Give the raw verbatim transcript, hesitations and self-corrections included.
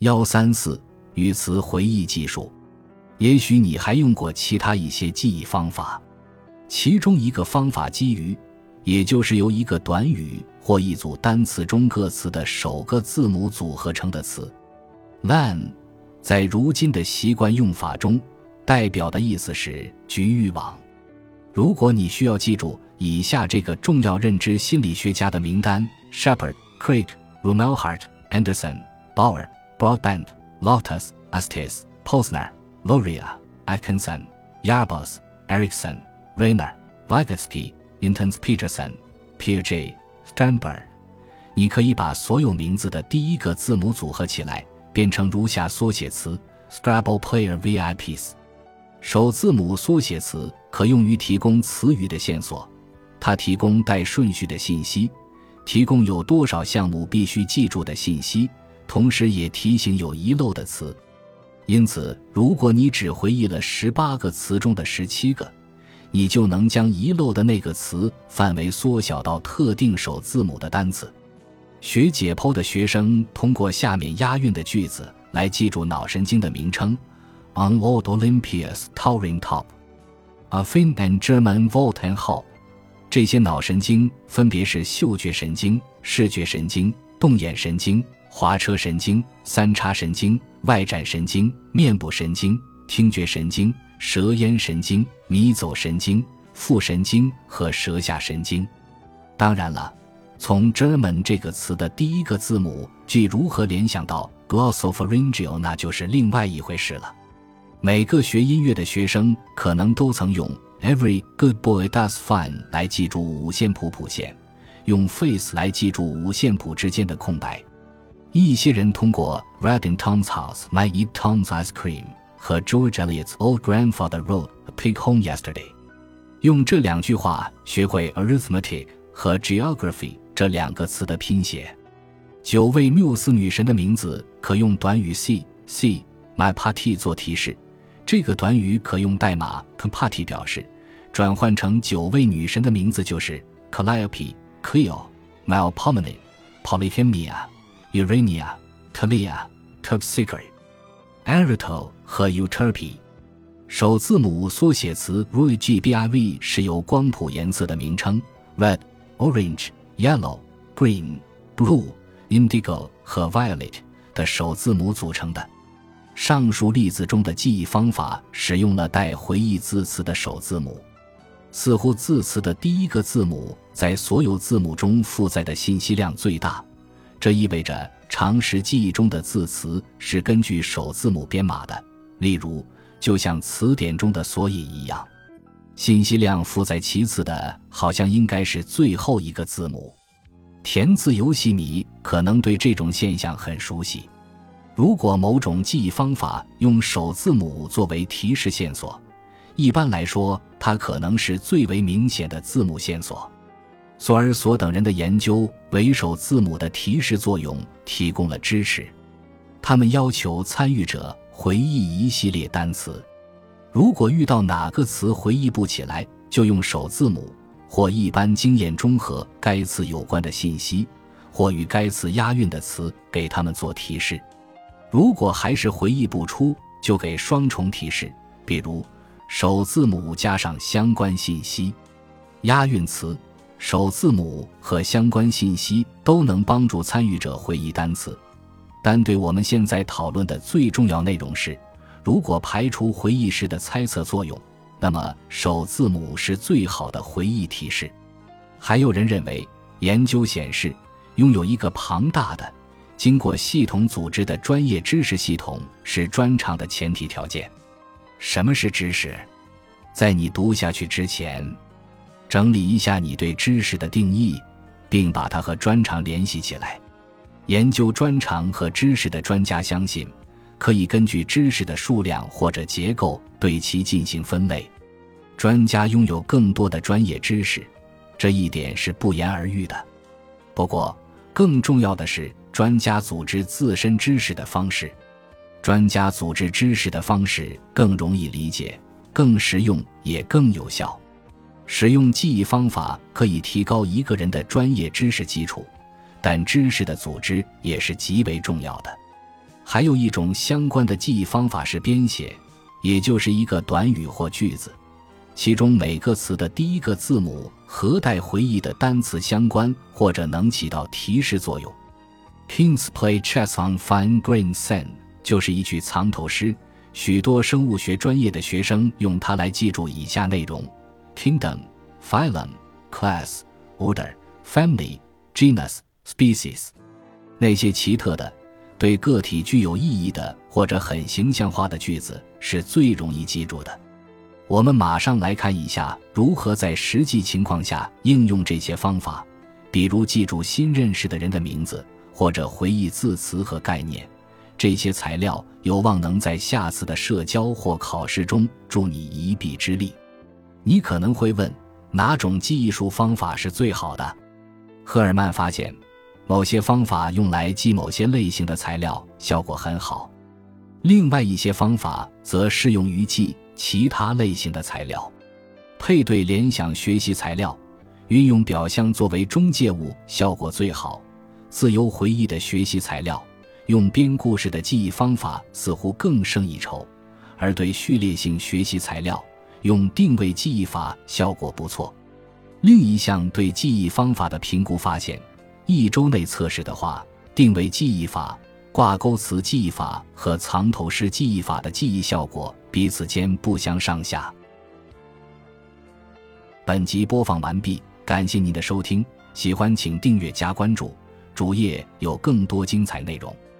一三四语词回忆技术。也许你还用过其他一些记忆方法，其中一个方法基于，也就是由一个短语或一组单词中各词的首个字母组合成的词。 L A N 在如今的习惯用法中代表的意思是局域网。如果你需要记住以下这个重要认知心理学家的名单： Shepard, Craig, Rumelhart, Anderson, Bauer, Broadbent, Loftus, Estes, Posner, Loria, Atkinson, Yarbus, Erickson, Rayner, Vygotsky, Intens Peterson, Piaget, Sternberg。 你可以把所有名字的第一个字母组合起来，变成如下缩写词 Scrabble Player V I Ps。 首字母缩写词可用于提供词语的线索，它提供带顺序的信息，提供有多少项目必须记住的信息，同时也提醒有遗漏的词。因此，如果你只回忆了十八个词中的十七个，你就能将遗漏的那个词范围缩小到特定首字母的单词。学解剖的学生通过下面押韵的句子来记住脑神经的名称 On Lord Olympia's towering top, A Finn and German Volt and Hop。 这些脑神经分别是嗅觉神经、视觉神经、动眼神经、滑车神经、三叉神经、外展神经、面部神经、听觉神经、舌咽神经、迷走神经、副神经和舌下神经。当然了，从 German 这个词的第一个字母即如何联想到 glossopharyngeal 那就是另外一回事了。每个学音乐的学生可能都曾用 Every good boy does fine 来记住五线谱谱线，用 face 来记住五线谱之间的空白。一些人通过 Red in Tom's house might eat Tom's ice cream 和 George Eliot's Old Grandfather rode a pig home yesterday， 用这两句话学会 arithmetic 和 geography 这两个词的拼写。九位缪斯女神的名字可用短语 c c my party 做提示，这个短语可用代码 party 表示，转换成九位女神的名字就是 Calliope、Cleo、Melpomene、Polyphemia、Urania、Topsica、Eritol 和 Euterpe。 首字母缩写词 R U G B I V 是由光谱颜色的名称 Red、Orange、Yellow、Green、Blue、Indigo 和 Violet 的首字母组成的。上述例子中的记忆方法使用了带回忆字词的首字母，似乎字词的第一个字母在所有字母中负载的信息量最大，这意味着常识记忆中的字词是根据首字母编码的，例如就像词典中的索引一样，信息量负载其次的好像应该是最后一个字母。填字游戏迷可能对这种现象很熟悉。如果某种记忆方法用首字母作为提示线索，一般来说它可能是最为明显的字母线索。索尔索等人的研究为首字母的提示作用提供了支持，他们要求参与者回忆一系列单词，如果遇到哪个词回忆不起来，就用首字母或一般经验中和该词有关的信息或与该词押韵的词给他们做提示。如果还是回忆不出，就给双重提示，比如首字母加上相关信息。押韵词、首字母和相关信息都能帮助参与者回忆单词，但对我们现在讨论的最重要内容是，如果排除回忆时的猜测作用，那么首字母是最好的回忆提示。还有人认为，研究显示，拥有一个庞大的经过系统组织的专业知识系统是专长的前提条件。什么是知识？在你读下去之前，整理一下你对知识的定义，并把它和专长联系起来。研究专长和知识的专家相信，可以根据知识的数量或者结构对其进行分类。专家拥有更多的专业知识，这一点是不言而喻的。不过，更重要的是专家组织自身知识的方式。专家组织知识的方式更容易理解，更实用，也更有效。使用记忆方法可以提高一个人的专业知识基础，但知识的组织也是极为重要的。 还有一种相关的记忆方法是编写，也就是一个短语或句子，其中每个词的第一个字母和带回忆的单词相关，或者能起到提示作用。 Kings play chess on fine grained sand 就是一句藏头诗，许多生物学专业的学生用它来记住以下内容： Kingdom, Phylum, Class, Order, Family, Genus, Species。 那些奇特的对个体具有意义的或者很形象化的句子是最容易记住的。我们马上来看一下如何在实际情况下应用这些方法，比如记住新认识的人的名字，或者回忆字词和概念。这些材料有望能在下次的社交或考试中助你一臂之力。你可能会问，哪种记忆术方法是最好的？赫尔曼发现，某些方法用来记某些类型的材料效果很好，另外一些方法则适用于记其他类型的材料。配对联想学习材料，运用表象作为中介物效果最好。自由回忆的学习材料，用编故事的记忆方法似乎更胜一筹，而对序列性学习材料，用定位记忆法效果不错。另一项对记忆方法的评估发现，一周内测试的话，定位记忆法、挂钩词记忆法和藏头诗记忆法的记忆效果彼此间不相上下。本集播放完毕，感谢您的收听，喜欢请订阅加关注，主页有更多精彩内容。